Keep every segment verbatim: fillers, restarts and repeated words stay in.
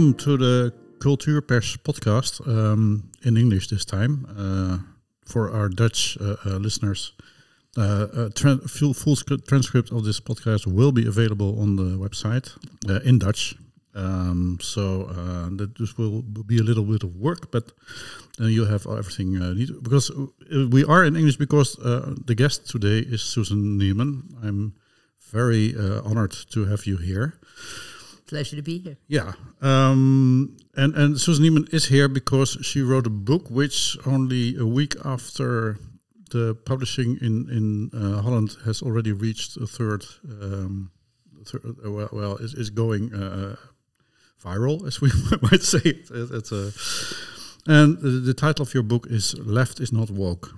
Welcome to the Cultuurpers podcast, um, in English this time. Uh, for our Dutch uh, uh, listeners, uh, a tra- full, full sc- transcript of this podcast will be available on the website uh, in Dutch. Um, so uh, that this will be a little bit of work, but uh, you'll have everything uh, needed. Because we are in English because uh, the guest today is Susan Neiman. I'm very uh, honored to have you here. Pleasure to be here. Yeah, um, and and Susan Neiman is here because she wrote a book which only a week after the publishing in in uh, Holland has already reached a third. Um, third uh, well, well, is is going uh, viral, as we might say. It, it's a, and the, the title of your book is "Left is Not Woke."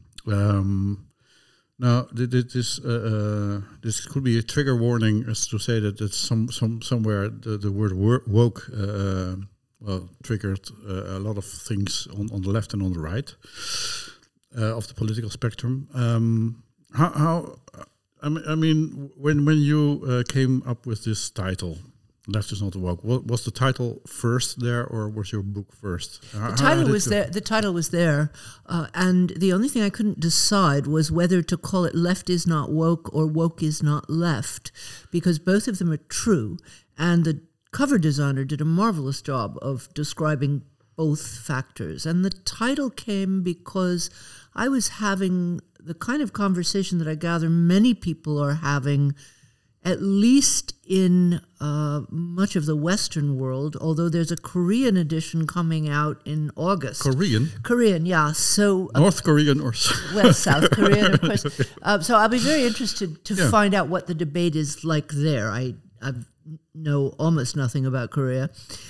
Um, Now, this uh, uh, this could be a trigger warning, as to say that it's some some somewhere the, the word woke uh, well triggered uh, a lot of things on, on the left and on the right uh, of the political spectrum. Um, how, how I mean, I mean, when when you uh, came up with this title, "Left is Not Woke," what, was the title first there, or was your book first? The how, title how was there. The title was there, uh, and the only thing I couldn't decide was whether to call it "Left is Not Woke" or "Woke is Not Left," because both of them are true, and the cover designer did a marvelous job of describing both factors. And the title came because I was having the kind of conversation that I gather many people are having, at least in uh, much of the Western world, although there's a Korean edition coming out in August. Korean? Korean, yeah. So uh, North Korean or... Well, South Korean, of course. Uh, so I'll be very interested to yeah. find out what the debate is like there. I, I know almost nothing about Korea.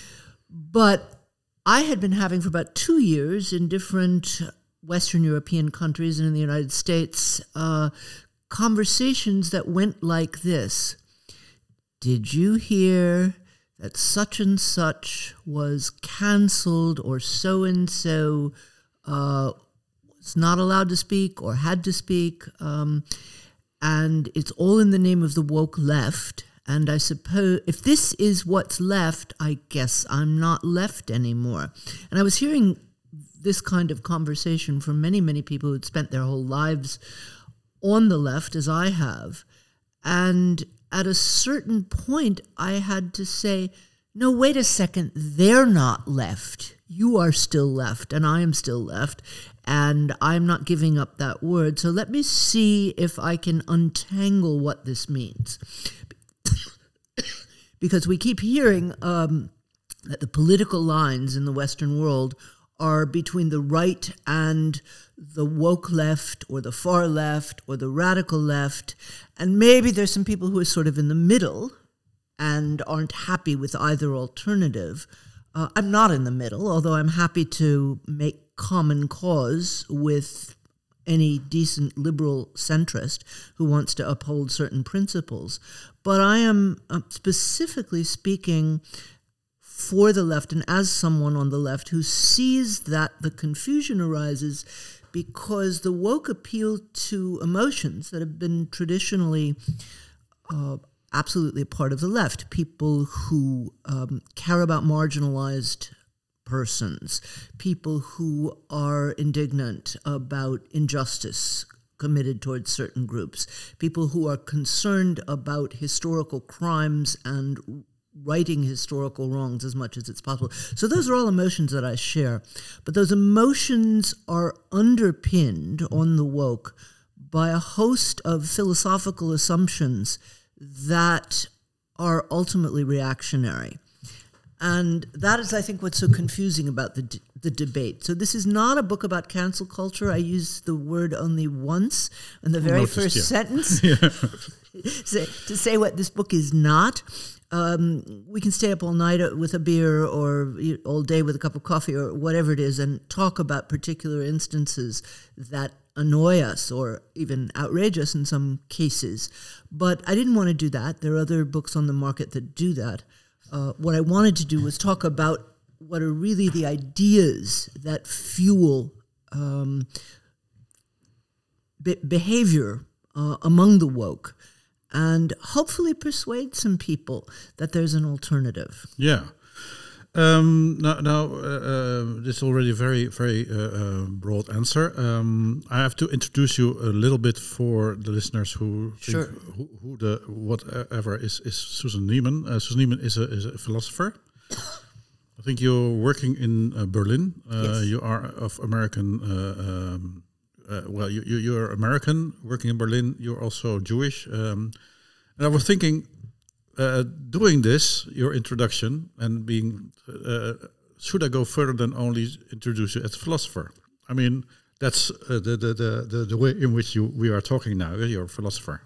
But I had been having for about two years in different Western European countries and in the United States uh, conversations that went like this. Did you hear that such and such was canceled, or so-and-so uh, was not allowed to speak or had to speak? Um, and it's all in the name of the woke left. And I suppose if this is what's left, I guess I'm not left anymore. And I was hearing this kind of conversation from many, many people who'd spent their whole lives on the left, as I have. And at a certain point, I had to say, no, wait a second, they're not left. You are still left, and I am still left, and I'm not giving up that word. So let me see if I can untangle what this means. Because we keep hearing um, that the political lines in the Western world are between the right and the woke left, or the far left, or the radical left. And maybe there's some people who are sort of in the middle and aren't happy with either alternative. Uh, I'm not in the middle, although I'm happy to make common cause with any decent liberal centrist who wants to uphold certain principles. But I am uh, specifically speaking for the left, and as someone on the left who sees that the confusion arises because the woke appeal to emotions that have been traditionally uh, absolutely a part of the left. People who um, care about marginalized persons, people who are indignant about injustice committed towards certain groups, people who are concerned about historical crimes and righting historical wrongs as much as it's possible. So those are all emotions that I share. But those emotions are underpinned on the woke by a host of philosophical assumptions that are ultimately reactionary. And that is, I think, what's so confusing about the d- the debate. So this is not a book about cancel culture. I use the word only once in the very Noticed, first yeah. sentence yeah. to, to say what this book is not. Um, we can stay up all night with a beer or all day with a cup of coffee or whatever it is and talk about particular instances that annoy us or even outrage us in some cases. But I didn't want to do that. There are other books on the market that do that. Uh, what I wanted to do was talk about what are really the ideas that fuel um, be- behavior uh, among the woke, and hopefully persuade some people that there's an alternative. Yeah. Um, now, now uh, uh, this is already a very, very uh, uh, broad answer. Um, I have to introduce you a little bit for the listeners who Sure. think who, who the whatever is is Susan Neiman. Uh, Susan Neiman is a is a philosopher. I think you're working in uh, Berlin. Uh, Yes. You are of American. Uh, um, uh, well, you, you you're American working in Berlin. You're also Jewish. Um, and I was thinking. Uh, doing this, your introduction, and being, uh, should I go further than only introduce you as a philosopher? I mean, that's uh, the, the, the, the, the way in which you we are talking now. You're a philosopher.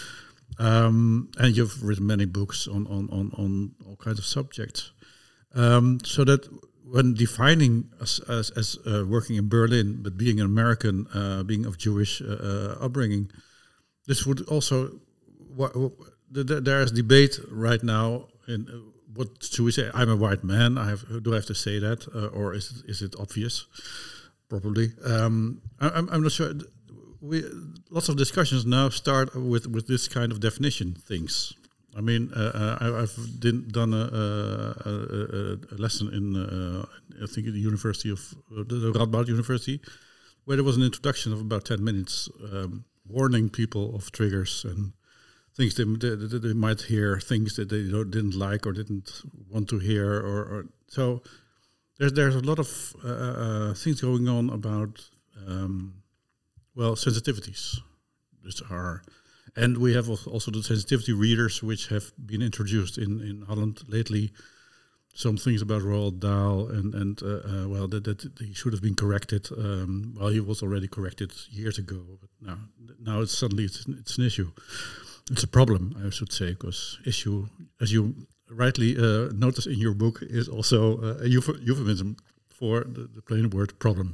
Um, and you've written many books on, on, on, on all kinds of subjects. Um, so that when defining as, as, as uh, working in Berlin, but being an American, uh, being of Jewish uh, uh, upbringing, this would also... Wh- wh- There is debate right now in uh, what should we say? I'm a white man. I have do I have to say that, uh, or is it is it obvious? Probably. Um, I, I'm I'm not sure. We lots of discussions now start with with this kind of definition things. I mean, uh, uh, I, I've did, done a, a, a, a lesson in uh, I think at the University of uh, the Radboud University, where there was an introduction of about ten minutes, um, warning people of triggers and things they, they, they might hear, things that they don't, didn't like or didn't want to hear, or, or so. There's there's a lot of uh, uh, things going on about um, well sensitivities. These are, and we have also the sensitivity readers, which have been introduced in, in Holland lately. Some things about Roald Dahl, and and uh, uh, well, that, that he should have been corrected. Um, well, he was already corrected years ago, but now now it's suddenly it's, it's an issue. It's a problem, I should say, because issue, as you rightly uh, notice in your book, is also uh, a euph- euphemism for the, the plain word problem.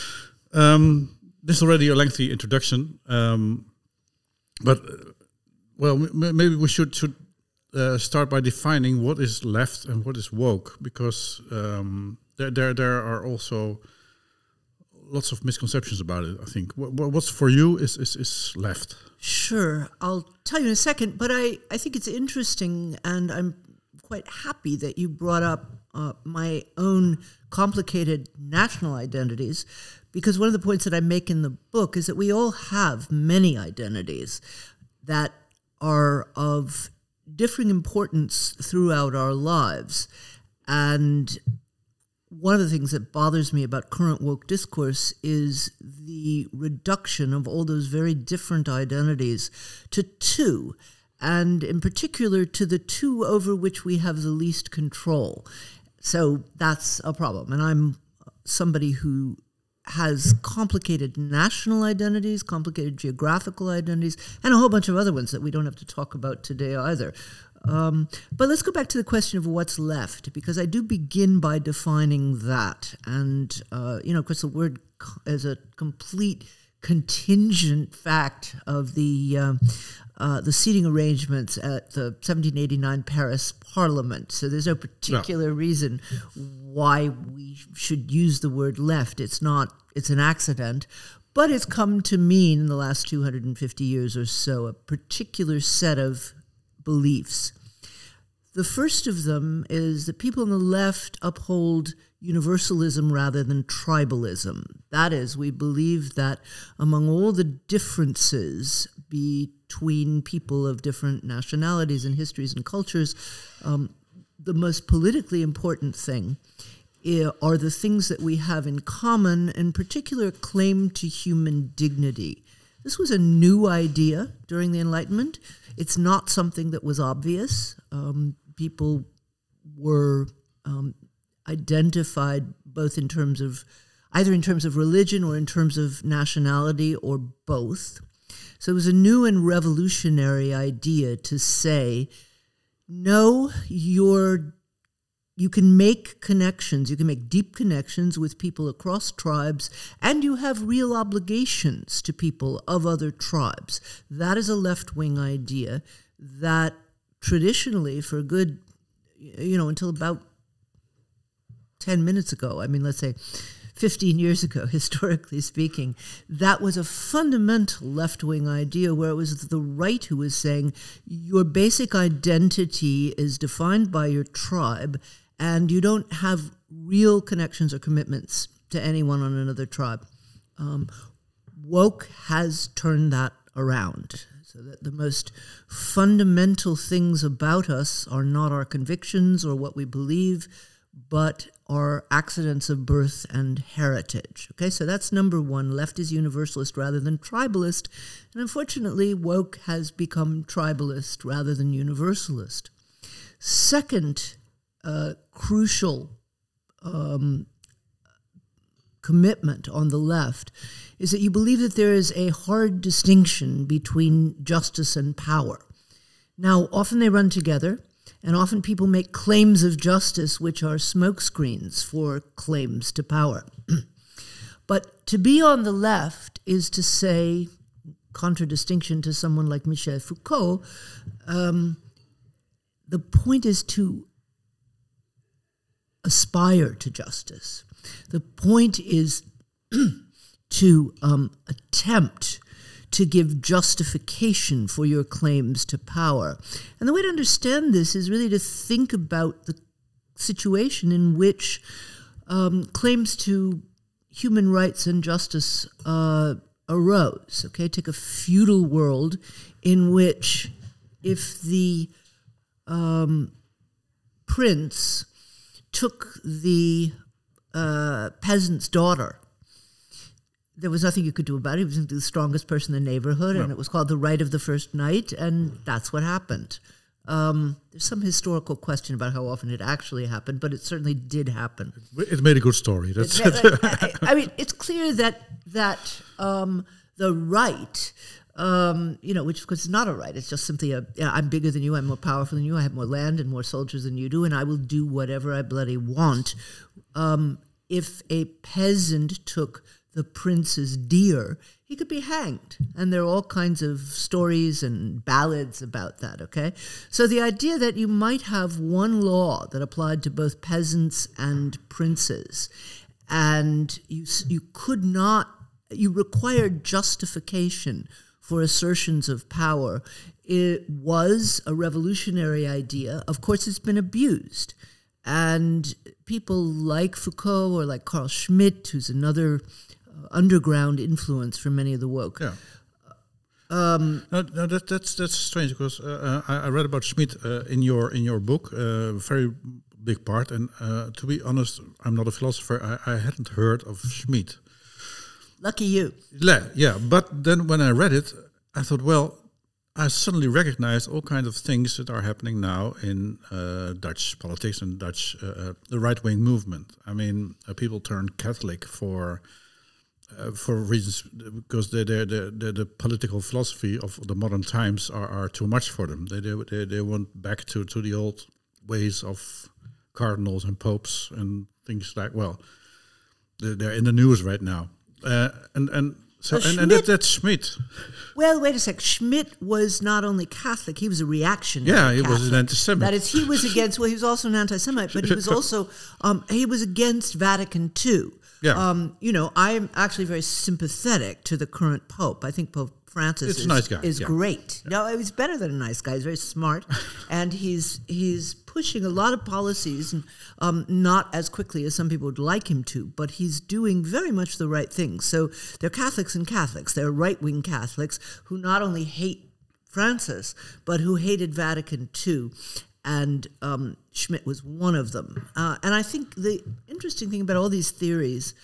Um, this is already a lengthy introduction, um, but uh, well, m- maybe we should should uh, start by defining what is left and what is woke, because um, there there there are also lots of misconceptions about it, I think. What, what's for you is, is, is left? Sure. I'll tell you in a second, but I, I think it's interesting, and I'm quite happy that you brought up uh, my own complicated national identities, because one of the points that I make in the book is that we all have many identities that are of differing importance throughout our lives. And one of the things that bothers me about current woke discourse is the reduction of all those very different identities to two, and in particular to the two over which we have the least control. So that's a problem. And I'm somebody who has complicated national identities, complicated geographical identities, and a whole bunch of other ones that we don't have to talk about today either. Um, but let's go back to the question of what's left, because I do begin by defining that. And, uh, you know, of course, the word co- is a complete contingent fact of the uh, uh, the seating arrangements at the seventeen eighty-nine Paris Parliament. So there's no particular no. reason why we should use the word left. It's not, it's an accident. But it's come to mean in the last two hundred fifty years or so a particular set of beliefs. The first of them is that people on the left uphold universalism rather than tribalism. That is, we believe that among all the differences between people of different nationalities and histories and cultures, um, the most politically important thing are the things that we have in common, in particular claim to human dignity. This was a new idea during the Enlightenment. It's not something that was obvious. Um, people were um, identified both in terms of, either in terms of religion or in terms of nationality or both. So it was a new and revolutionary idea to say, no, you're You can make connections, you can make deep connections with people across tribes, and you have real obligations to people of other tribes. That is a left-wing idea that traditionally, for a good, you know, until about ten minutes ago, I mean, let's say fifteen years ago, historically speaking, that was a fundamental left-wing idea where it was the right who was saying your basic identity is defined by your tribe, and you don't have real connections or commitments to anyone on another tribe. Um, woke has turned that around, so that the most fundamental things about us are not our convictions or what we believe, but are accidents of birth and heritage. Okay, so that's number one. Left is universalist rather than tribalist. And unfortunately, woke has become tribalist rather than universalist. Second uh, crucial um, commitment on the left is that you believe that there is a hard distinction between justice and power. Now, often they run together. And often people make claims of justice which are smokescreens for claims to power. But to be on the left is to say, contradistinction to someone like Michel Foucault, um, the point is to aspire to justice. The point is to um, attempt to give justification for your claims to power. And the way to understand this is really to think about the situation in which um, claims to human rights and justice uh, arose. Okay, take a feudal world in which if the um, prince took the uh, peasant's daughter, there was nothing you could do about it. He was the strongest person in the neighborhood, no. and it was called the right of the first night, and that's what happened. Um, there's some historical question about how often it actually happened, but it certainly did happen. It made a good story. That's it, I, I mean, it's clear that that um, the right, um, you know, which of course is not a right. It's just simply a, yeah, I'm bigger than you, I'm more powerful than you, I have more land and more soldiers than you do, and I will do whatever I bloody want. Um, if a peasant took the prince's deer, he could be hanged. And there are all kinds of stories and ballads about that, okay? So the idea that you might have one law that applied to both peasants and princes, and you you could not, you required justification for assertions of power, it was a revolutionary idea. Of course, it's been abused. And people like Foucault or like Carl Schmitt, who's another underground influence for many of the woke. Yeah. Um, no, no, that, that's that's strange because uh, I, I read about Schmitt uh, in your in your book, uh, very big part. And uh, to be honest, I'm not a philosopher. I, I hadn't heard of Schmitt. Lucky you. Yeah, yeah. But then when I read it, I thought, well, I suddenly recognized all kinds of things that are happening now in uh, Dutch politics and Dutch uh, the right wing movement. I mean, uh, people turn Catholic for. Uh, for reasons because the the, the the political philosophy of the modern times are, are too much for them. They they they, they want back to, to the old ways of cardinals and popes and things like. Well, they're, they're in the news right now, uh, and and so and, and that, that's Schmitt. Well, wait a sec. Schmitt was not only Catholic; he was a reactionary. Yeah, he Catholic. was an anti-Semite. That is, he was against. Well, he was also an anti-Semite, but he was also um, he was against Vatican Two. Yeah. Um, you know, I'm actually very sympathetic to the current Pope. I think Pope Francis it's is, a nice guy. is yeah. great. Yeah. No, he's better than a nice guy. He's very smart, and he's he's pushing a lot of policies, and um, not as quickly as some people would like him to, but he's doing very much the right things. So they're Catholics and Catholics. They're right-wing Catholics who not only hate Francis, but who hated Vatican Two. And um, Schmitt was one of them. Uh, and I think the interesting thing about all these theories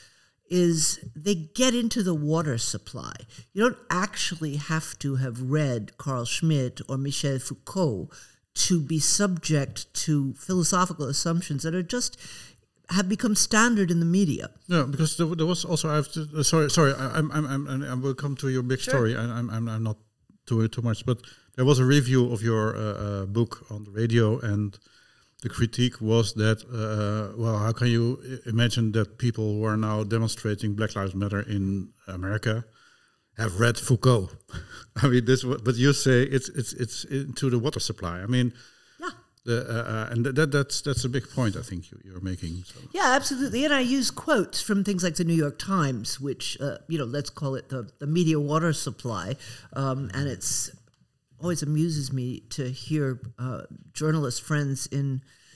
is they get into the water supply. You don't actually have to have read Carl Schmitt or Michel Foucault to be subject to philosophical assumptions that are just have become standard in the media. No, because there, there was also I have to, uh, sorry, sorry, I, I'm, I'm, I'm, I will come to your big Sure. story. I, I'm, I'm, I'm not doing it too much, but there was a review of your uh, uh, book on the radio, and the critique was that, uh, well, how can you I- imagine that people who are now demonstrating Black Lives Matter in America have read Foucault? I mean, this. But you say it's it's it's into the water supply. I mean, Yeah. the, uh, uh, and th- that that's that's a big point I think you, you're making. So. Yeah, absolutely. And I use quotes from things like the New York Times, which, uh, you know, let's call it the, the media water supply. Um, and it's always amuses me to hear uh, journalist friends in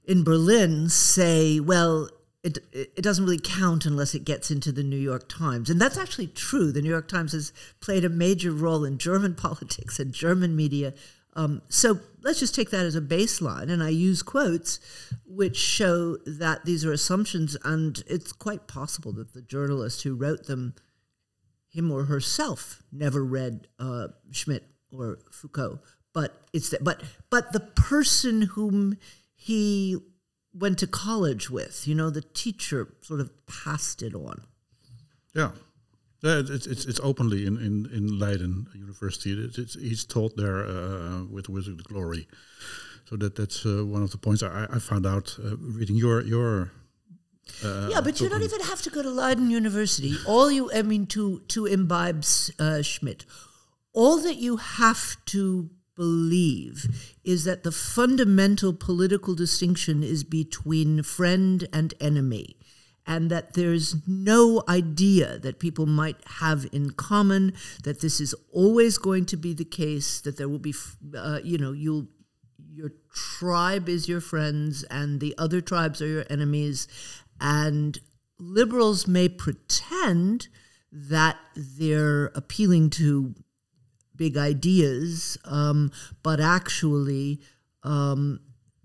in Berlin say, well, it it doesn't really count unless it gets into the New York Times. And that's actually true. The New York Times has played a major role in German politics and German media. Um, so let's just take that as a baseline. And I use quotes which show that these are assumptions, and it's quite possible that the journalist who wrote them, him or herself, never read uh, Schmitt or Foucault. But it's the, but but the person whom he went to college with, you know, the teacher sort of passed it on. Yeah. Yeah, it's it's it's openly in, in, in Leiden University. It's, it's he's taught there uh, with with glory. So that that's uh, one of the points I, I found out uh, reading your your. Uh, yeah, but you don't even have to go to Leiden University. All you, I mean, to to imbibe uh, Schmitt, all that you have to believe is that the fundamental political distinction is between friend and enemy, and that there's no idea that people might have in common, that this is always going to be the case, that there will be, uh, you know, you'll, your tribe is your friends and the other tribes are your enemies. And liberals may pretend that they're appealing to big ideas, um, but actually um,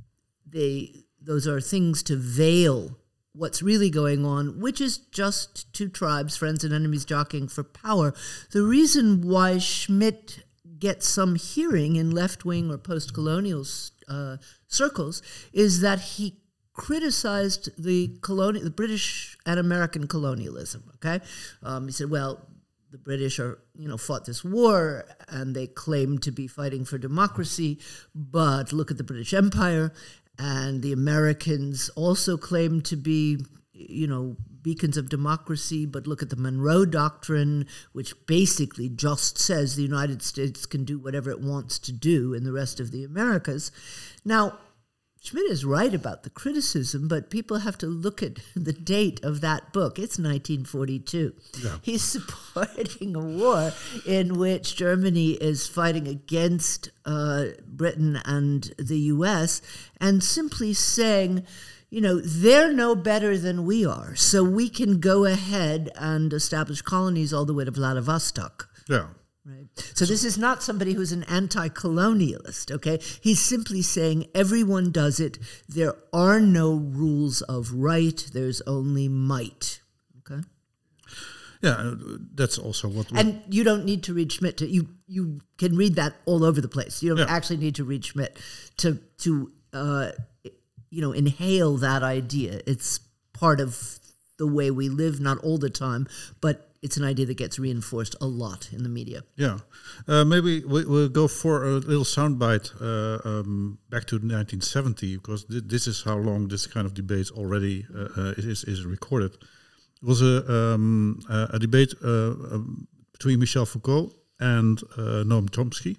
they those are things to veil what's really going on, which is just two tribes, friends and enemies, jockeying for power. The reason why Schmitt gets some hearing in left-wing or post-colonial uh, circles is that he criticized the colonial, the British and American colonialism. Okay, um, he said, "Well, the British are, you know, fought this war and they claim to be fighting for democracy, but look at the British Empire, and the Americans also claim to be, you know, beacons of democracy, but look at the Monroe Doctrine, which basically just says the United States can do whatever it wants to do in the rest of the Americas." Now, Schmitt is right about the criticism, but people have to look at the date of that book. It's nineteen forty-two. Yeah. He's supporting a war in which Germany is fighting against uh, Britain and the U S and simply saying, you know, they're no better than we are, so we can go ahead and establish colonies all the way to Vladivostok. Yeah. Right. So this is not somebody who's an anti-colonialist, okay? He's simply saying everyone does it. There are no rules of right. There's only might, okay? Yeah, that's also what... And you don't need to read Schmitt. To, you you can read that all over the place. You don't yeah. actually need to read Schmitt to, to uh, you know, inhale that idea. It's part of the way we live, not all the time, but it's an idea that gets reinforced a lot in the media. Yeah. Uh, maybe we, we'll go for a little soundbite uh, um, back to nineteen seventy, because th- this is how long this kind of debate already uh, uh, is, is recorded. It was a, um, a, a debate uh, um, between Michel Foucault and uh, Noam Chomsky,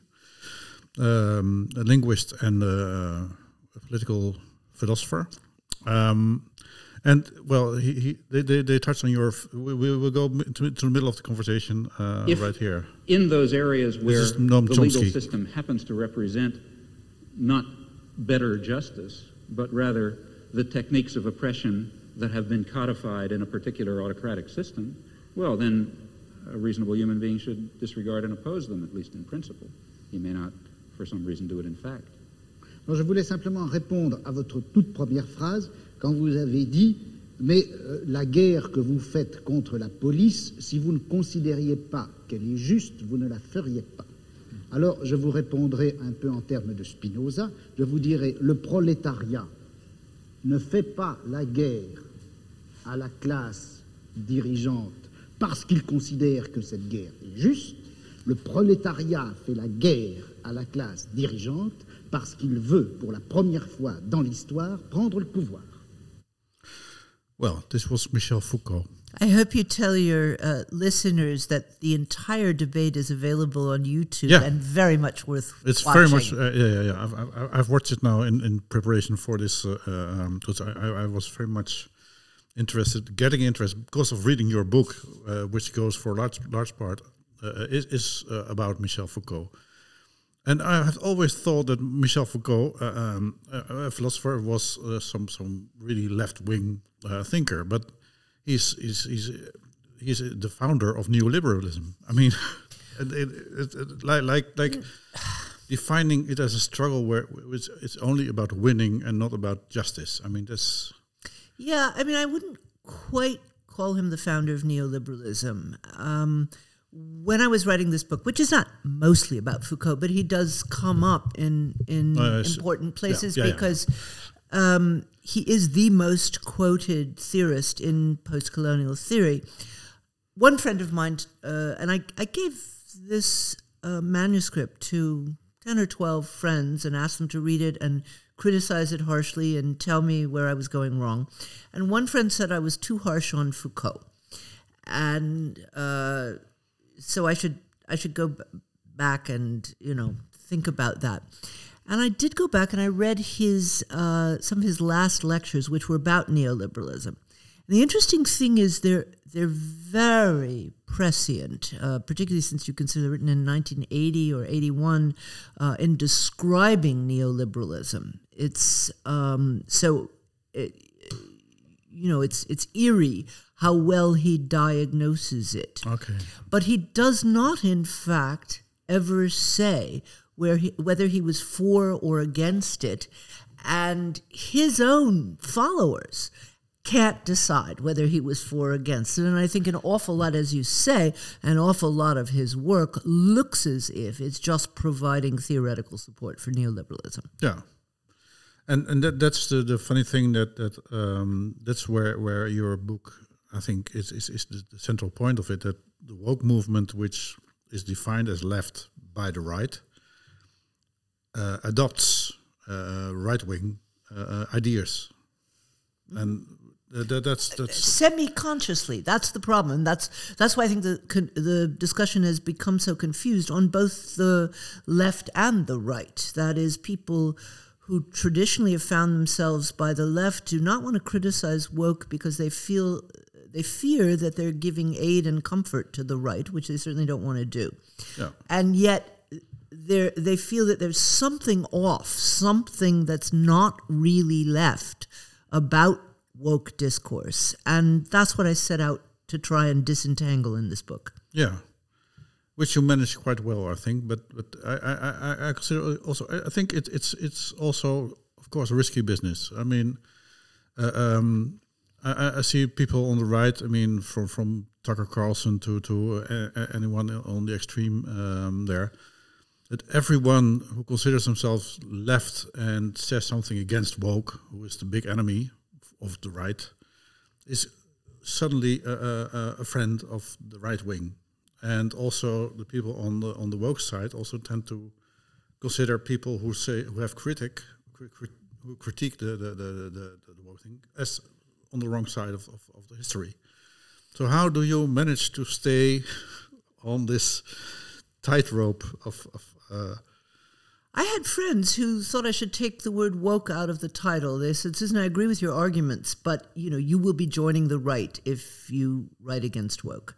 um, a linguist and uh, a political philosopher. Um, And, well, he, he, they, they, they touched on your... We, we will go to, to the middle of the conversation uh, right here. In those areas where the legal system happens to represent not better justice, but rather the techniques of oppression that have been codified in a particular autocratic system, well, then a reasonable human being should disregard and oppose them, at least in principle. He may not, for some reason, do it in fact. Alors, je voulais simplement répondre à votre toute première phrase, quand vous avez dit « Mais euh, la guerre que vous faites contre la police, si vous ne considériez pas qu'elle est juste, vous ne la feriez pas. » Alors, je vous répondrai un peu en termes de Spinoza. Je vous dirai « Le prolétariat ne fait pas la guerre à la classe dirigeante parce qu'il considère que cette guerre est juste. Le prolétariat fait la guerre à la classe dirigeante parce qu'il veut, pour la première fois dans l'histoire, prendre le pouvoir. » Well, this was Michel Foucault. I hope you tell your uh, listeners that the entire debate is available on YouTube yeah. and very much worth it's watching. It's very much, uh, yeah, yeah, yeah. I've, I've, I've watched it now in, in preparation for this uh, um, because I, I, I was very much interested, getting interested because of reading your book, uh, which goes for a large, large part, uh, is, is uh, about Michel Foucault. And I have always thought that Michel Foucault, uh, um, a, a philosopher, was uh, some some really left wing uh, thinker, but he's he's he's he's the founder of neoliberalism. I mean, it, it, it, it, like like like defining it as a struggle where it's, it's only about winning and not about justice. I mean, that's yeah. I mean, I wouldn't quite call him the founder of neoliberalism. Um, When I was writing this book, which is not mostly about Foucault, but he does come up in in uh, important places yeah, yeah, because yeah. Um, he is the most quoted theorist in post-colonial theory. One friend of mine, uh, and I, I gave this uh, manuscript to ten or twelve friends and asked them to read it and criticize it harshly and tell me where I was going wrong. And one friend said I was too harsh on Foucault. And... Uh, So I should I should go b- back and, you know, think about that. And I did go back and I read his uh, some of his last lectures, which were about neoliberalism. And the interesting thing is they're they're very prescient, uh, particularly since you consider they're written in nineteen eighty or eighty-one, uh, in describing neoliberalism. It's um, so. It, You know, it's it's eerie how well he diagnoses it. Okay. But he does not, in fact, ever say where he, whether he was for or against it. And his own followers can't decide whether he was for or against it. And I think an awful lot, as you say, an awful lot of his work looks as if it's just providing theoretical support for neoliberalism. Yeah. And and that, that's the, the funny thing that that um, that's where, where your book, I think, is is, is the, the central point of it, that the woke movement, which is defined as left by the right, uh, adopts uh, right-wing uh, ideas. And that, that's... that's semi-consciously. That's the problem. And that's that's why I think the con- the discussion has become so confused on both the left and the right. That is, people who traditionally have found themselves by the left do not want to criticize woke because they feel they fear that they're giving aid and comfort to the right, which they certainly don't want to do. Yeah. And yet they they feel that there's something off, something that's not really left about woke discourse. And that's what I set out to try and disentangle in this book. Yeah. Which you managed quite well, I think, but but I I, I consider also I think it, it's it's also, of course, a risky business. I mean, uh, um, I, I see people on the right. I mean, from from Tucker Carlson to to uh, anyone on the extreme um, there, that everyone who considers themselves left and says something against woke, who is the big enemy of the right, is suddenly a, a, a friend of the right wing. And also the people on the on the woke side also tend to consider people who say who have critic crit, who critique the the, the the the woke thing as on the wrong side of, of, of the history. So how do you manage to stay on this tightrope of? of uh, I had friends who thought I should take the word woke out of the title. They said, "Susan, I agree with your arguments, but you know you will be joining the right if you write against woke."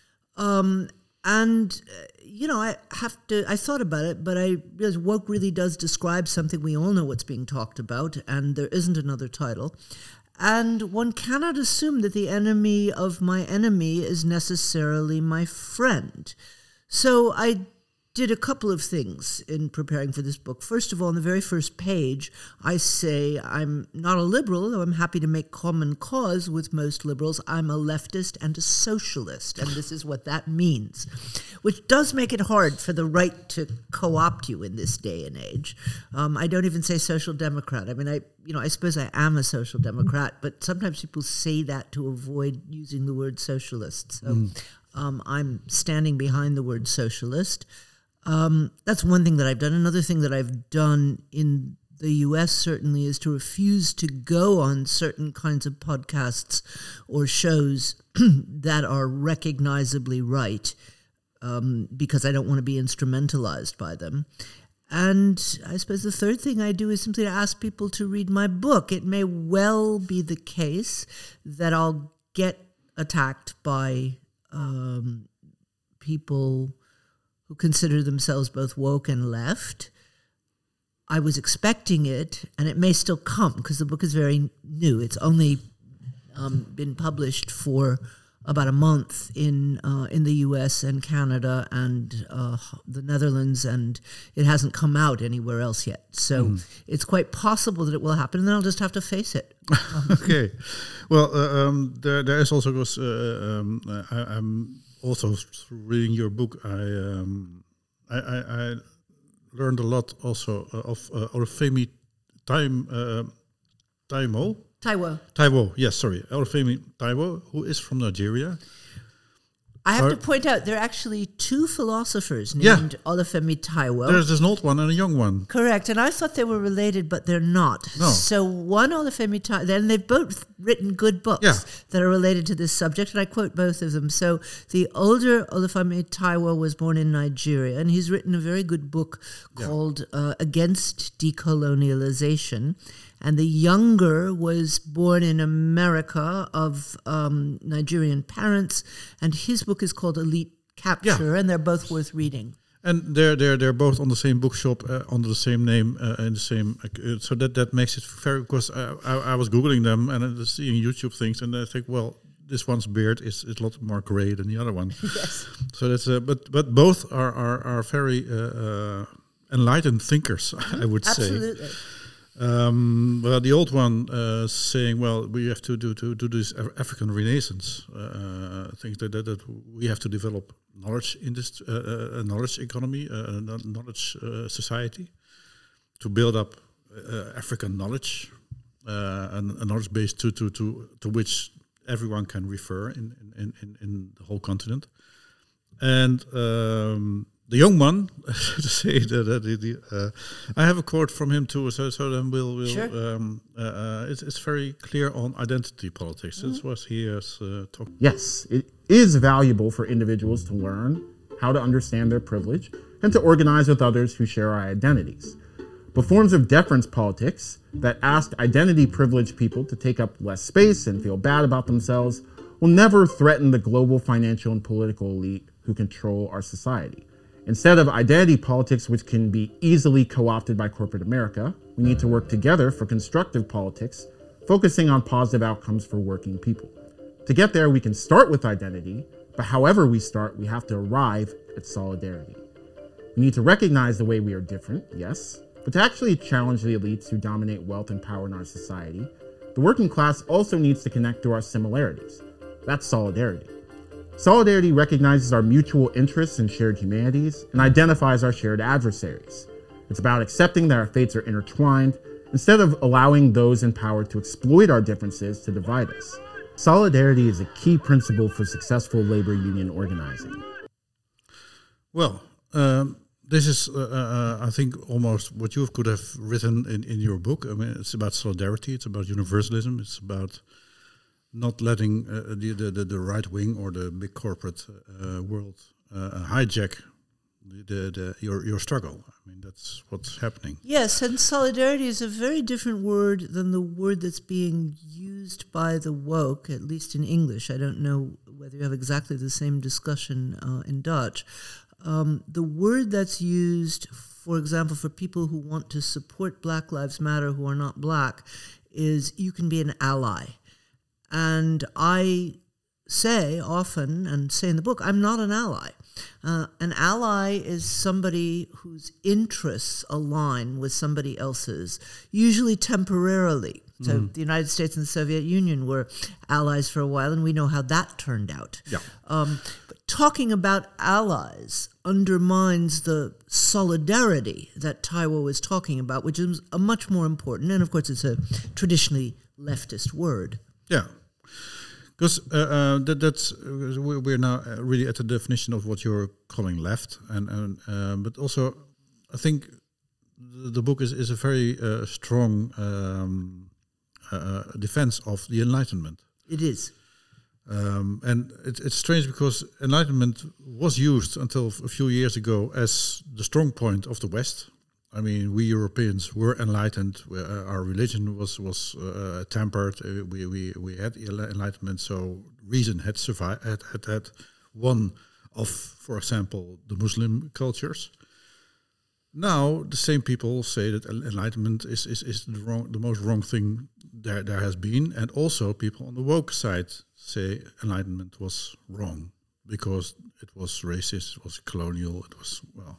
Um, and, uh, you know, I have to, I thought about it, but I realized woke really does describe something. We all know what's being talked about, and there isn't another title. And one cannot assume that the enemy of my enemy is necessarily my friend. So I did a couple of things in preparing for this book. First of all, on the very first page, I say I'm not a liberal, though I'm happy to make common cause with most liberals. I'm a leftist and a socialist, and this is what that means, which does make it hard for the right to co-opt you in this day and age. Um, I don't even say social democrat. I mean, I you know, I suppose I am a social democrat, but sometimes people say that to avoid using the word socialist. So mm. um, I'm standing behind the word socialist. Um, that's one thing that I've done. Another thing that I've done in the U S certainly is to refuse to go on certain kinds of podcasts or shows that are recognizably right um, because I don't want to be instrumentalized by them. And I suppose the third thing I do is simply to ask people to read my book. It may well be the case that I'll get attacked by um, people who consider themselves both woke and left. I was expecting it, and it may still come because the book is very new. It's only um, been published for about a month in uh, in the U S and Canada and uh, the Netherlands, and it hasn't come out anywhere else yet. So mm. it's quite possible that it will happen, and then I'll just have to face it. Okay. Well, uh, um, there there is also because uh, um, I, I'm also reading your book. I um, I, I, I learned a lot also uh, of uh, Olufemi Time uh, Taiwo. Taiwo. Taiwo, yes, sorry. Olufemi Taiwo, who is from Nigeria. I have Are, to point out there are actually two philosophers named yeah. Olufemi Taiwo. There's, there's an old one and a young one. Correct, and I thought they were related, but they're not. No. So one Olufemi Taiwo, then they've both written good books yeah. that are related to this subject, and I quote both of them. So the older Olufemi Taiwo was born in Nigeria, and he's written a very good book called yeah. uh, Against Decolonialization. And the younger was born in America of um, Nigerian parents, and his book is called Elite Capture, yeah. and they're both worth reading. And they're they're they're both on the same bookshop uh, under the same name uh, and the same. Uh, so that that makes it very. Because uh, I I was googling them and uh, seeing YouTube things, and I think, well, this one's beard is, is a lot more gray than the other one. Yes. So that's uh, but but both are are are very uh, uh, enlightened thinkers. I would Absolutely. say. Um, well, the old one uh, saying, well, we have to do to do this African Renaissance. Uh, I think that, that that we have to develop knowledge in this uh, uh, knowledge economy, uh, knowledge uh, society, to build up uh, African knowledge uh, and a knowledge base to to to to which everyone can refer in in in, in the whole continent. And um, the young one, to say that, that the, the, uh, I have a quote from him too. So, so then we'll. we'll sure. um, uh, uh, it's, it's very clear on identity politics. Mm-hmm. This was he has uh, talked. Yes, it is valuable for individuals to learn how to understand their privilege and to organize with others who share our identities. But forms of deference politics that ask identity-privileged people to take up less space and feel bad about themselves will never threaten the global financial and political elite who control our society. Instead of identity politics, which can be easily co-opted by corporate America, we need to work together for constructive politics, focusing on positive outcomes for working people. To get there, we can start with identity, but however we start, we have to arrive at solidarity. We need to recognize the way we are different, yes, but to actually challenge the elites who dominate wealth and power in our society, the working class also needs to connect to our similarities. That's solidarity. Solidarity recognizes our mutual interests and shared humanities and identifies our shared adversaries. It's about accepting that our fates are intertwined instead of allowing those in power to exploit our differences to divide us. Solidarity is a key principle for successful labor union organizing. Well, um, this is, uh, uh, I think, almost what you could have written in, in your book. I mean, it's about solidarity, it's about universalism, it's about not letting uh, the, the the right wing or the big corporate uh, world uh, hijack the, the, the your your struggle. I mean, that's what's happening. Yes, and solidarity is a very different word than the word that's being used by the woke, at least in English. I don't know whether you have exactly the same discussion uh, in Dutch. Um, the word that's used, for example, for people who want to support Black Lives Matter who are not black, is you can be an ally. And I say often, and say in the book, I'm not an ally. Uh, an ally is somebody whose interests align with somebody else's, usually temporarily. So mm. the United States and the Soviet Union were allies for a while, and we know how that turned out. Yeah. Um, but talking about allies undermines the solidarity that Taiwo is talking about, which is a much more important, and of course it's a traditionally leftist word. Yeah. Because uh, uh, that, that's uh, we're now really at the definition of what you're calling left, and, and uh, but also I think the, the book is, is a very uh, strong um, uh, defense of the Enlightenment. It is, um, and it, it's strange because Enlightenment was used until a few years ago as the strong point of the West. I mean, we Europeans were enlightened. We, uh, our religion was was uh, tempered. Uh, we we we had enlightenment, so reason had survived. Had, had had won of, for example, the Muslim cultures. Now, the same people say that enlightenment is, is, is the wrong, the most wrong thing there, there has been. And also people on the woke side say enlightenment was wrong because it was racist, it was colonial, it was, well...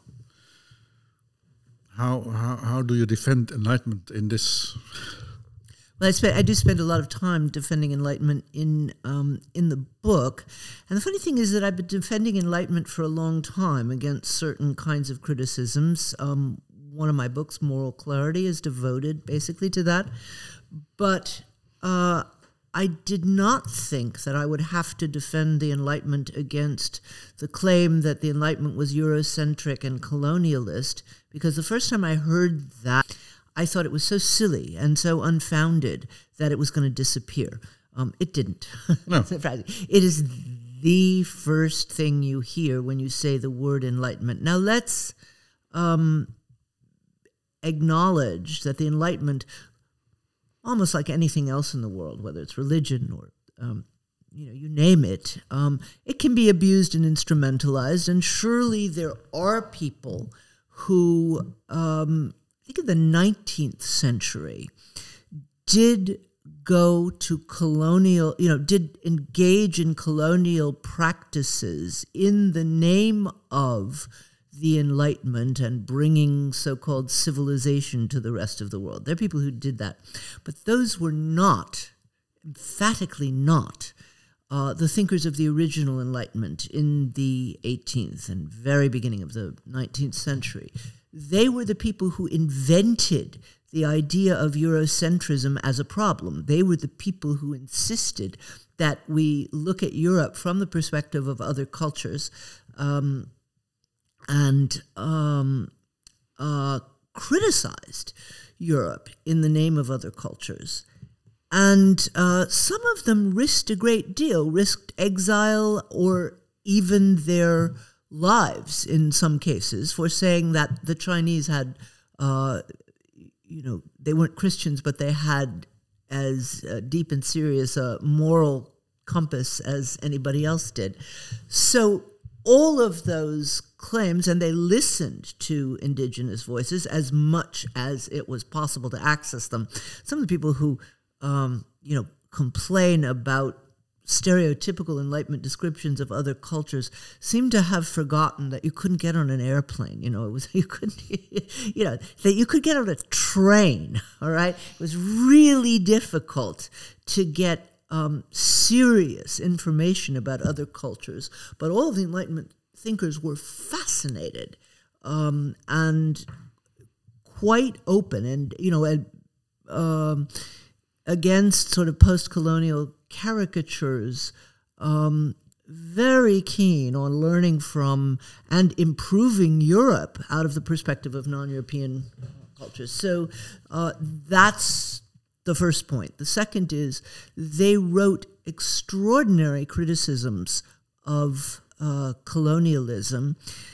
How, how how do you defend enlightenment in this? Well, I, spend, I do spend a lot of time defending enlightenment in um, in the book, and the funny thing is that I've been defending enlightenment for a long time against certain kinds of criticisms. Um, one of my books, Moral Clarity, is devoted basically to that, but uh, I did not think that I would have to defend the Enlightenment against the claim that the Enlightenment was Eurocentric and colonialist, because the first time I heard that, I thought it was so silly and so unfounded that it was going to disappear. Um, it didn't. No. It is the first thing you hear when you say the word Enlightenment. Now let's um, acknowledge that the Enlightenment, almost like anything else in the world, whether it's religion or um, you know, you name it, um, it can be abused and instrumentalized. And surely there are people who, um, I think in the nineteenth century, did go to colonial, you know, did engage in colonial practices in the name of the Enlightenment and bringing so-called civilization to the rest of the world. There are people who did that. But those were not, emphatically not, uh, the thinkers of the original Enlightenment in the eighteenth and very beginning of the nineteenth century. They were the people who invented the idea of Eurocentrism as a problem. They were the people who insisted that we look at Europe from the perspective of other cultures, um, and um, uh, criticized Europe in the name of other cultures. And uh, some of them risked a great deal, risked exile or even their lives in some cases for saying that the Chinese had, uh, you know, they weren't Christians, but they had as uh, deep and serious a moral compass as anybody else did. So all of those claims, and they listened to indigenous voices as much as it was possible to access them. Some of the people who, um, you know, complain about stereotypical Enlightenment descriptions of other cultures seem to have forgotten that you couldn't get on an airplane. You know, it was you couldn't, you know, that you could get on a train. All right, it was really difficult to get Um, serious information about other cultures, but all of the Enlightenment thinkers were fascinated um, and quite open, and you know, and, um, against sort of post-colonial caricatures, um, very keen on learning from and improving Europe out of the perspective of non-European cultures. So uh, that's the first point. The second is they wrote extraordinary criticisms of uh, colonialism.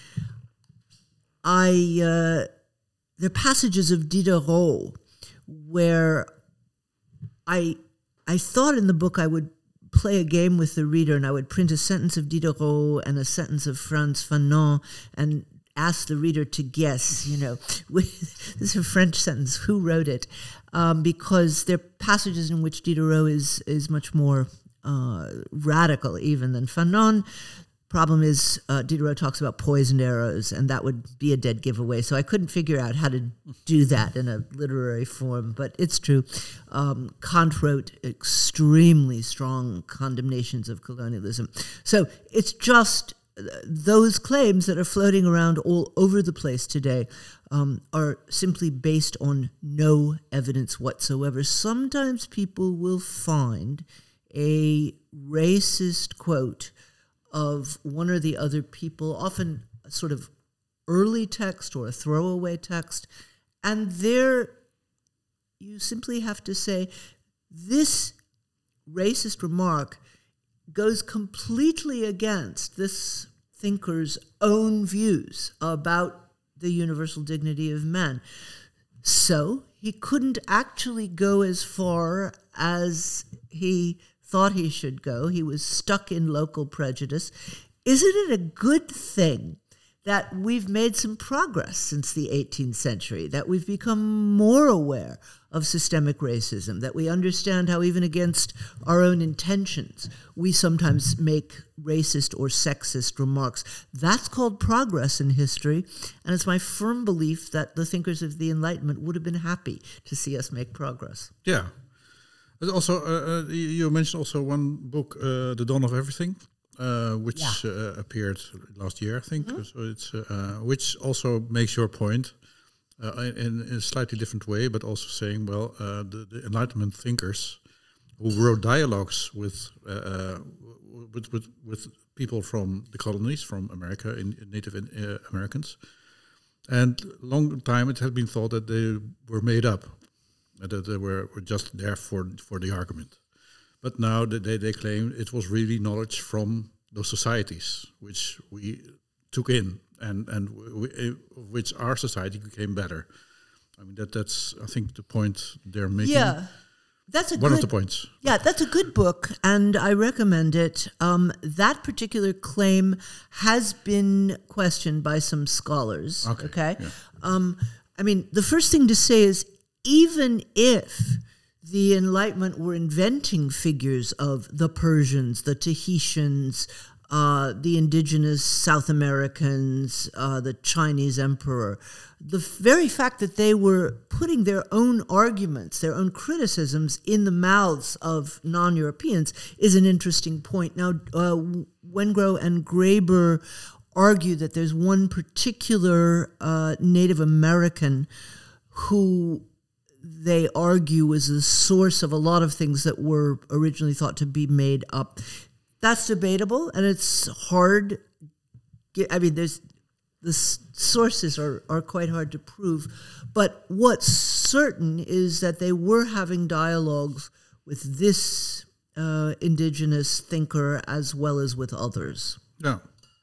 I uh, there are passages of Diderot where I I thought in the book I would play a game with the reader and I would print a sentence of Diderot and a sentence of Frantz Fanon and ask the reader to guess, you know, this is a French sentence, who wrote it? Um, because there are passages in which Diderot is is much more uh, radical even than Fanon. Problem is, uh, Diderot talks about poisoned arrows, and that would be a dead giveaway. So I couldn't figure out how to do that in a literary form, but it's true. Um, Kant wrote extremely strong condemnations of colonialism. So it's just those claims that are floating around all over the place today um, are simply based on no evidence whatsoever. Sometimes people will find a racist quote of one or the other people, often a sort of early text or a throwaway text, and there you simply have to say, this racist remark goes completely against this thinker's own views about the universal dignity of man. So he couldn't actually go as far as he thought he should go. He was stuck in local prejudice. isn't it a good thing that we've made some progress since the eighteenth century, that we've become more aware of systemic racism, that we understand how even against our own intentions, we sometimes make racist or sexist remarks? That's called progress in history, and it's my firm belief that the thinkers of the Enlightenment would have been happy to see us make progress. Yeah. But also, uh, uh, you mentioned also one book, uh, The Dawn of Everything. Uh, which yeah. uh, appeared last year, I think. Mm-hmm. So it's uh, uh, which also makes your point uh, in, in a slightly different way, but also saying, well, uh, the, the Enlightenment thinkers who wrote dialogues with, uh, uh, with with with people from the colonies, from America, in, in Native uh, Americans, and long time it had been thought that they were made up, uh, that they were, were just there for for the argument. But now they, they claim it was really knowledge from those societies which we took in, and and we, which our society became better. I mean that that's I think the point they're making. Yeah, that's a one good, of the points. Yeah, that's a good book, and I recommend it. Um, that particular claim has been questioned by some scholars. Okay, okay? Yeah. Um, I mean, the first thing to say is even if the Enlightenment were inventing figures of the Persians, the Tahitians, uh, the indigenous South Americans, uh, the Chinese emperor. The very fact that they were putting their own arguments, their own criticisms in the mouths of non-Europeans is an interesting point. Now, uh, Wengrow and Graeber argue that there's one particular uh, Native American who they argue is the source of a lot of things that were originally thought to be made up. That's debatable, and it's hard. I mean, there's the sources are, are quite hard to prove. But what's certain is that they were having dialogues with this uh, indigenous thinker as well as with others. Yeah.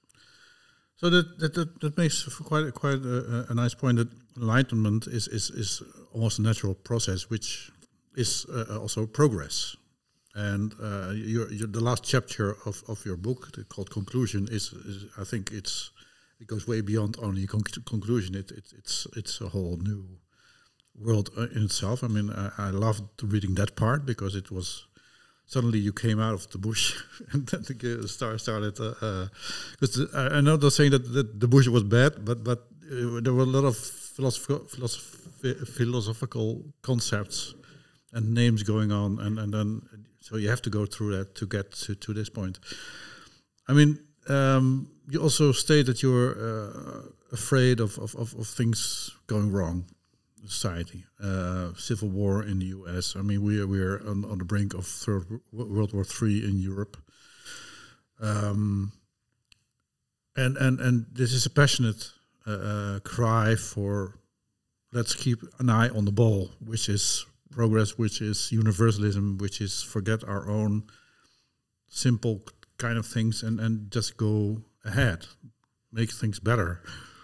So that that, that, that makes quite quite a, a nice point that Enlightenment is, is, is almost a natural process, which is uh, also progress. And uh, your, your, the last chapter of, of your book, called Conclusion, is, is I think it's it goes way beyond only conc- conclusion. It, it it's it's a whole new world in itself. I mean, I, I loved reading that part because it was suddenly you came out of the bush and then the star started. Because uh, uh, I know they're saying that, that the bush was bad, but but uh, there were a lot of philosoph- philosoph- philosophical concepts and names going on, and, and then so you have to go through that to get to, to this point. I mean, um, you also state that you're uh, afraid of, of, of, of things going wrong in society. Uh, civil war in the U S. I mean, we are, we are on, on the brink of third World War Three in Europe. Um, and, and, and this is a passionate uh, cry for let's keep an eye on the ball, which is progress, which is universalism, which is forget our own simple kind of things and, and just go ahead, make things better.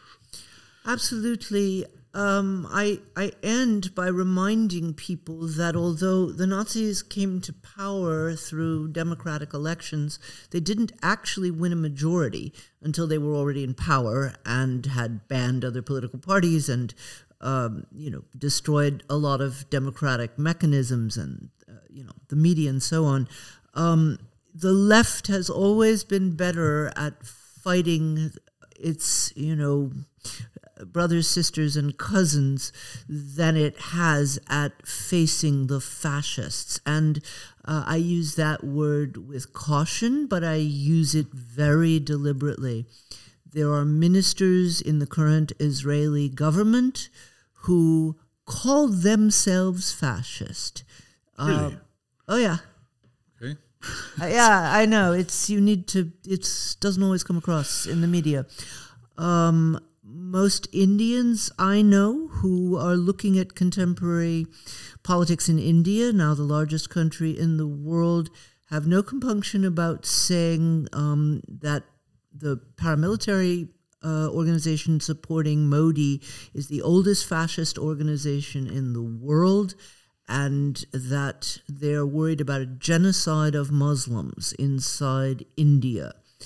Absolutely. Um, I I end by reminding people that although the Nazis came to power through democratic elections, they didn't actually win a majority until they were already in power and had banned other political parties and Um, you know, destroyed a lot of democratic mechanisms and, uh, you know, the media and so on. Um, the left has always been better at fighting its, you know, brothers, sisters, and cousins than it has at facing the fascists. And uh, I use that word with caution, but I use it very deliberately. There are ministers in the current Israeli government who call themselves fascist. Really? Uh, oh yeah. Okay. uh, yeah, I know. It's you need to. It doesn't always come across in the media. Um, most Indians I know who are looking at contemporary politics in India, now the largest country in the world, have no compunction about saying um, that the paramilitary uh, organization supporting Modi is the oldest fascist organization in the world, and that they're worried about a genocide of Muslims inside India,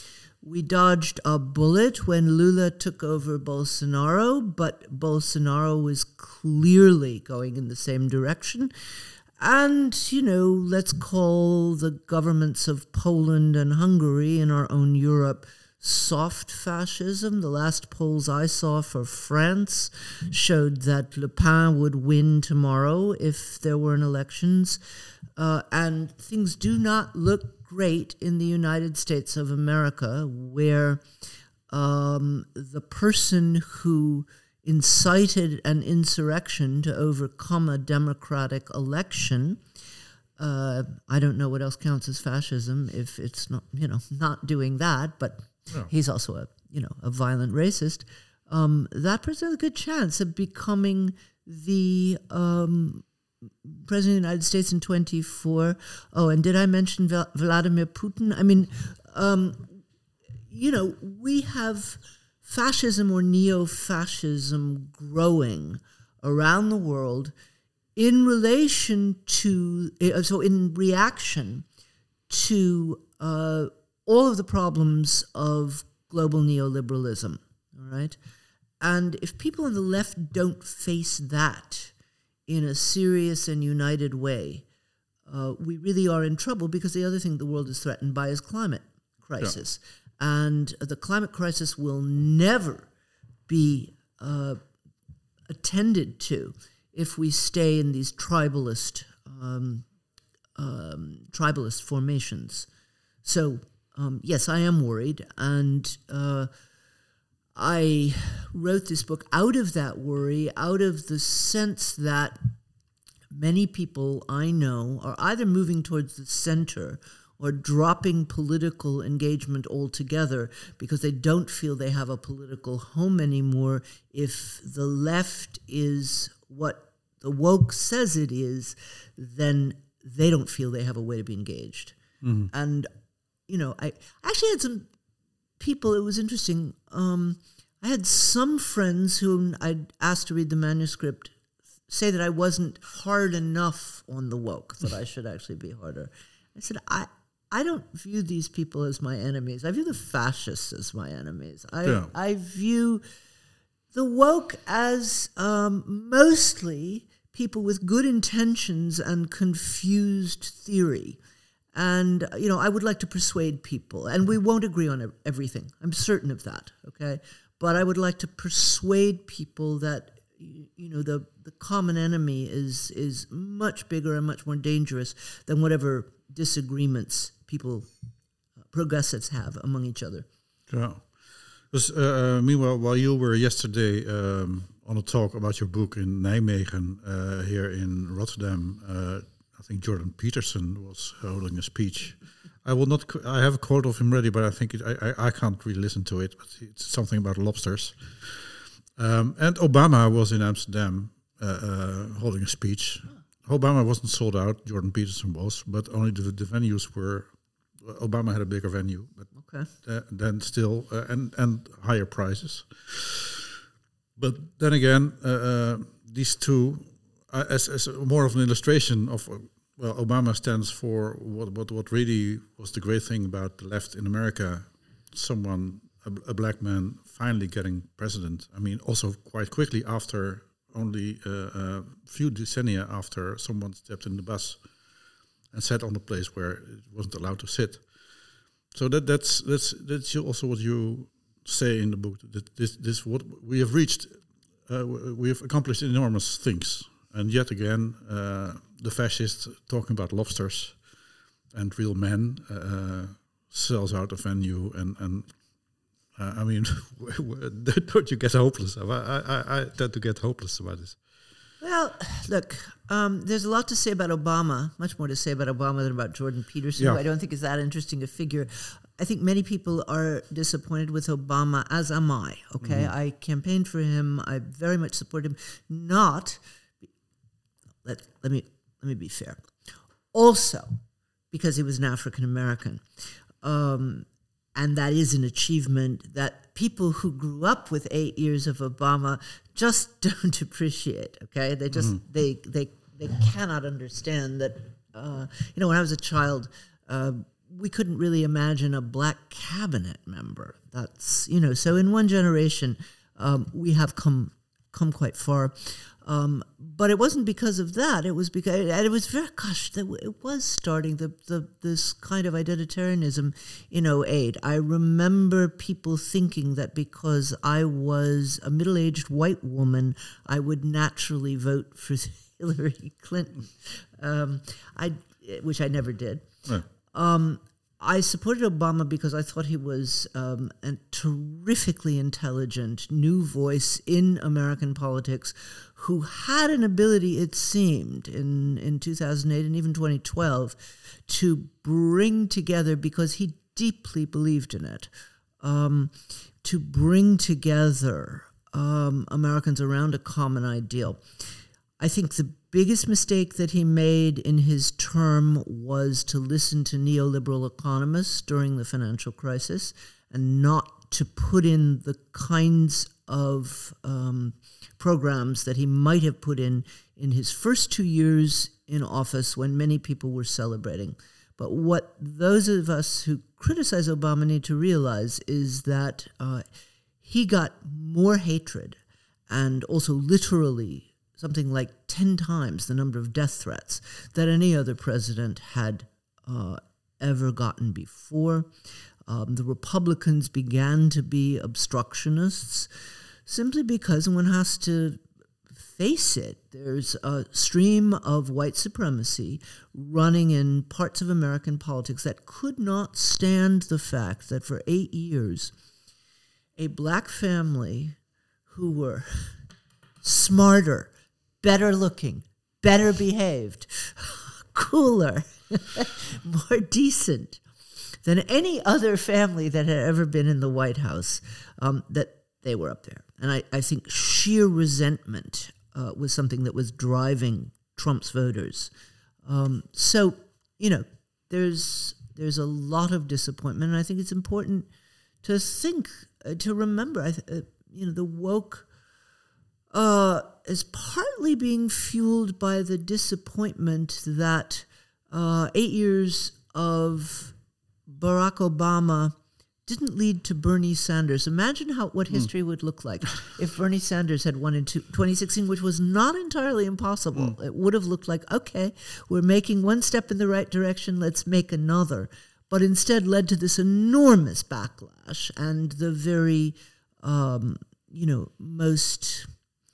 We dodged a bullet when Lula took over Bolsonaro, but Bolsonaro was clearly going in the same direction. And, you know, let's call the governments of Poland and Hungary in our own Europe soft fascism. The last polls I saw for France showed that Le Pen would win tomorrow if there were elections. Uh, and things do not look great in the United States of America, where um, the person who incited an insurrection to overcome a democratic election, uh, I don't know what else counts as fascism if it's not, you know, not doing that, but yeah. He's also a, you know, a violent racist. Um, that person has a good chance of becoming the um, president of the United States in twenty-four. Oh, and did I mention Val- Vladimir Putin? I mean, um, you know, we have fascism or neo-fascism growing around the world in relation to, uh, so in reaction to uh, all of the problems of global neoliberalism, all right? And if people on the left don't face that in a serious and united way, uh, we really are in trouble, because the other thing the world is threatened by is climate crisis. Yeah. And the climate crisis will never be uh, attended to if we stay in these tribalist um, um, tribalist formations. So, um, yes, I am worried, and uh, I wrote this book out of that worry, out of the sense that many people I know are either moving towards the center or dropping political engagement altogether because they don't feel they have a political home anymore. If the left is what the woke says it is, then they don't feel they have a way to be engaged. Mm-hmm. And, you know, I actually had some people, it was interesting, um, I had some friends whom I'd asked to read the manuscript say that I wasn't hard enough on the woke, that I should actually be harder. I said, I I don't view these people as my enemies. I view the fascists as my enemies. I yeah. I view the woke as um, mostly people with good intentions and confused theory. And, you know, I would like to persuade people, and we won't agree on everything. I'm certain of that, okay? But I would like to persuade people that, you know, the, the common enemy is is much bigger and much more dangerous than whatever disagreements people, uh, progressives, have among each other. Yeah. Dus, uh, meanwhile, while you were yesterday um, on a talk about your book in Nijmegen, uh, here in Rotterdam, uh, I think Jordan Peterson was holding a speech. I will not. I have a quote of him ready, but I think it, I, I I can't really listen to it. But it's something about lobsters. Um, and Obama was in Amsterdam uh, uh, holding a speech. Obama wasn't sold out. Jordan Peterson was, but only the, the venues were. Uh, Obama had a bigger venue, but okay. uh, then still uh, and and higher prices. But then again, uh, uh, these two, uh, as as more of an illustration of. Uh, Well, Obama stands for what, what what really was the great thing about the left in America. Someone, a, a black man, finally getting president. I mean, also quite quickly after, only uh, a few decennia after someone stepped in the bus and sat on the place where it wasn't allowed to sit. So that that's that's that's also what you say in the book. That this this what we have reached. Uh, we have accomplished enormous things. And yet again, uh, the fascists talking about lobsters and real men uh, sells out a venue. And, and uh, I mean, don't you get hopeless? I, I, I tend to get hopeless about this. Well, look, um, there's a lot to say about Obama, much more to say about Obama than about Jordan Peterson, yeah. who I don't think is that interesting a figure. I think many people are disappointed with Obama, as am I, okay? Mm-hmm. I campaigned for him. I very much support him. Not... Let, let me let me be fair. Also, because he was an African American, um, and that is an achievement that people who grew up with eight years of Obama just don't appreciate. Okay, they just mm-hmm. they they they cannot understand that. Uh, you know, when I was a child, uh, we couldn't really imagine a black cabinet member. That's, you know, so in one generation, um, we have come come quite far. Um, but it wasn't because of that. It was because, and it was very, gosh, it was starting the, the this kind of identitarianism in oh eight. I remember people thinking that because I was a middle-aged white woman, I would naturally vote for Hillary Clinton, um, I which I never did. Right. Um, I supported Obama because I thought he was um, a terrifically intelligent new voice in American politics who had an ability, it seemed, in, in two thousand eight and even twenty twelve, to bring together, because he deeply believed in it, um, to bring together um, Americans around a common ideal. I think the biggest mistake that he made in his term was to listen to neoliberal economists during the financial crisis and not to put in the kinds of um, programs that he might have put in in his first two years in office when many people were celebrating. But what those of us who criticize Obama need to realize is that uh, he got more hatred and also literally something like ten times the number of death threats that any other president had uh, ever gotten before. Um, the Republicans began to be obstructionists simply because one has to face it. There's a stream of white supremacy running in parts of American politics that could not stand the fact that for eight years, a black family who were smarter, better looking, better behaved, cooler, more decent than any other family that had ever been in the White House, um, that they were up there. And I, I think sheer resentment uh, was something that was driving Trump's voters. Um, so, you know, there's there's a lot of disappointment, and I think it's important to think, uh, to remember, I th- uh, you know, the woke Uh, is partly being fueled by the disappointment that uh, eight years of Barack Obama didn't lead to Bernie Sanders. Imagine how what history mm. would look like if Bernie Sanders had won in two, twenty sixteen, which was not entirely impossible. Mm. It would have looked like, okay, we're making one step in the right direction, let's make another. But instead led to this enormous backlash and the very, um, you know, most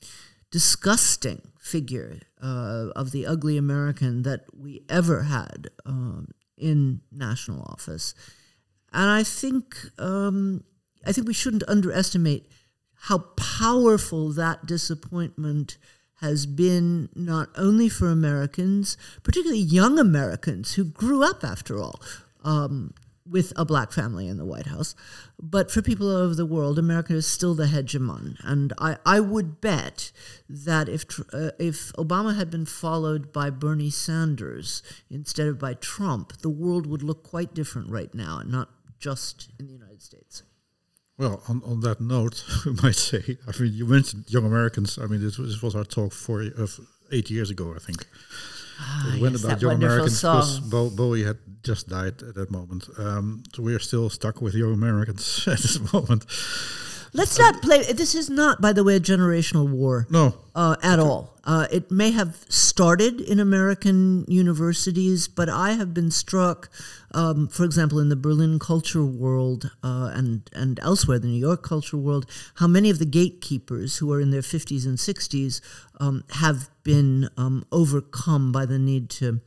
disgusting figure uh, of the ugly American that we ever had um, in national office. And I think um, I think we shouldn't underestimate how powerful that disappointment has been, not only for Americans, particularly young Americans who grew up, after all, um, with a black family in the White House, but for people all over the world, America is still the hegemon. And I, I would bet that if uh, if Obama had been followed by Bernie Sanders instead of by Trump, the world would look quite different right now, and not just in the United States. Well, on, on that note, we might say, I mean, you mentioned young Americans. I mean, this was, this was our talk four, uh, eight years ago, I think. Ah, it went yes, about that young wonderful Americans song. because Bo- Bowie had just died at that moment. Um, so we are still stuck with young Americans at this moment. Let's not play. This is not, by the way, a generational war. No. Uh, at all. Uh, it may have started in American universities, but I have been struck, um, for example, in the Berlin culture world uh, and, and elsewhere, the New York culture world, how many of the gatekeepers who are in their fifties and sixties um, have been um, overcome by the need to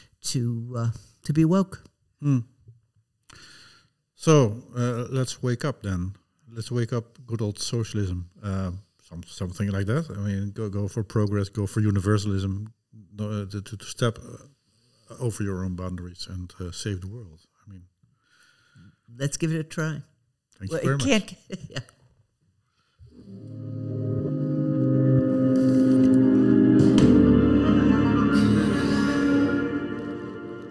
to uh, to be woke. Mm. So uh, let's wake up then. Let's wake up good old socialism, uh, some, something like that. I mean, go go for progress, go for universalism, uh, to, to step uh, over your own boundaries and uh, save the world. I mean, let's give it a try. Thank well, you very it much. Can't, yeah.